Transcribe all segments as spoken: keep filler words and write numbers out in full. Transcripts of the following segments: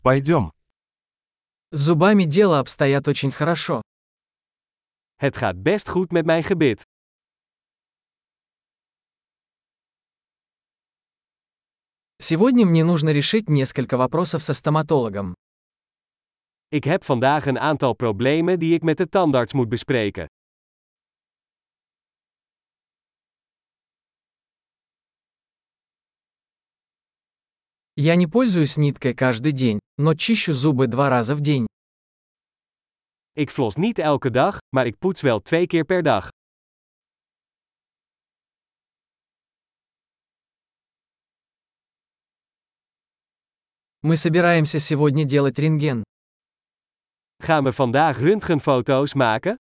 Пойдем. С зубами дело обстоят очень хорошо. Het gaat best goed met mijn gebit. Сегодня мне нужно решить несколько вопросов со стоматологом. Ik heb vandaag een aantal problemen die ik met de tandarts moet bespreken. Я не пользуюсь ниткой каждый день, но чищу зубы два раза в день. Ik flos niet elke dag, maar ik poets wel twee keer per dag. Мы собираемся сегодня делать рентген. Gaan we vandaag röntgenfoto's maken?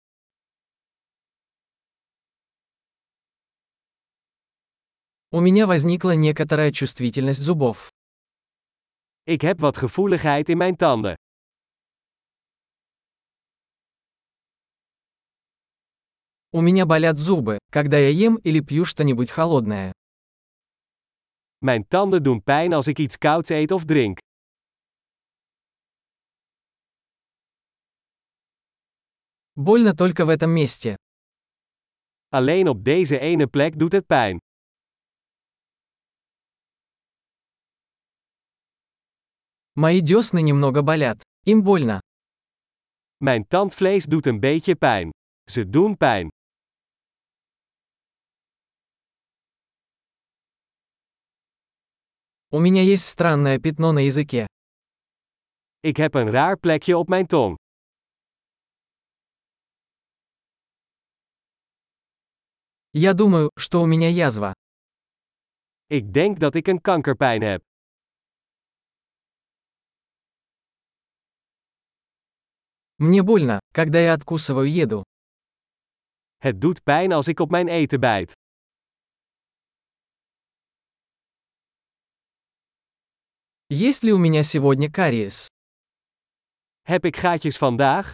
У меня возникла некоторая чувствительность зубов. Ik heb wat gevoeligheid in mijn tanden. У меня болят зубы, когда я ем или пью что-нибудь холодное. Mijn tanden doen pijn als ik iets kouds eet of drink. Больно только в этом месте. Alleen op deze ene plek doet het pijn. Мои десны немного болят. Им больно. Mijn tandvlees doet een beetje pijn. Ze doen pijn. У меня есть странное пятно на языке. Ik heb een raar plekje op mijn tong. Я думаю, что у меня язва. Ik denk dat ik een kankerpijn heb. Мне больно, когда я откусываю еду. Het doet pijn als ik op mijn eten bijt. Есть ли у меня сегодня кариес? Heb ik gaatjes vandaag?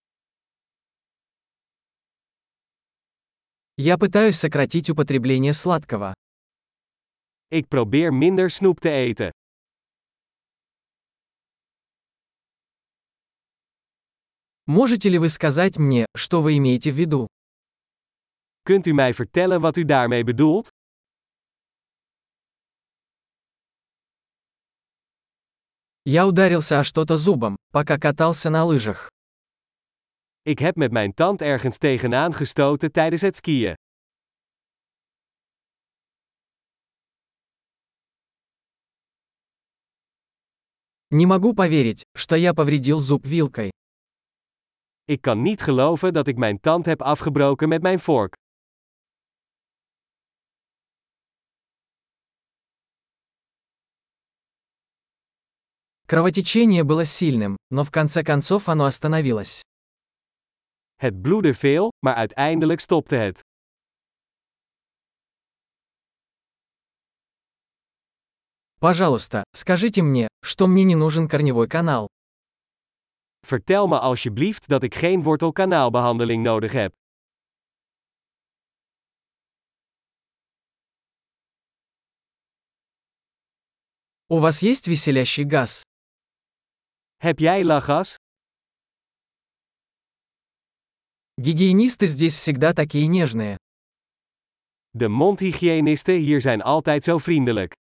Я пытаюсь сократить употребление сладкого. Ik probeer minder snoep te eten. Можете ли вы сказать мне, что вы имеете в виду? Kunt u mij vertellen wat u daarmee bedoelt? Я ударился о что-то зубом, пока катался на лыжах. Ik heb met mijn tand ergens tegenaan gestoten tijdens het skiën. Не могу поверить, что я повредил зуб вилкой. Ik kan niet geloven dat ik mijn tand heb afgebroken met mijn vork. Кровотечение было сильным, но в конце концов оно остановилось. Het bloedde veel, maar uiteindelijk stopte het. Пожалуйста, скажите мне, что мне не нужен корневой канал. Vertel me alsjeblieft dat ik geen wortelkanaalbehandeling nodig heb. У вас есть веселящий газ? Heb jij lachgas? Гигиенисты здесь всегда такие нежные. De mondhygiënisten hier zijn altijd zo vriendelijk.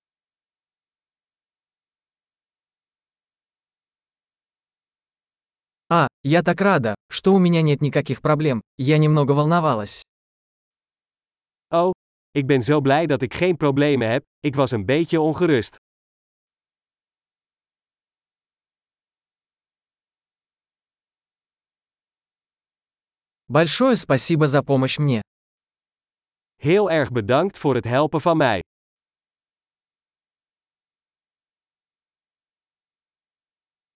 А, я так рада, что у меня нет никаких проблем, я немного волновалась. Oh, ik ben zo blij dat ik geen problemen heb, ik was een beetje ongerust. Большое спасибо за помощь мне. Heel erg bedankt voor het helpen van mij.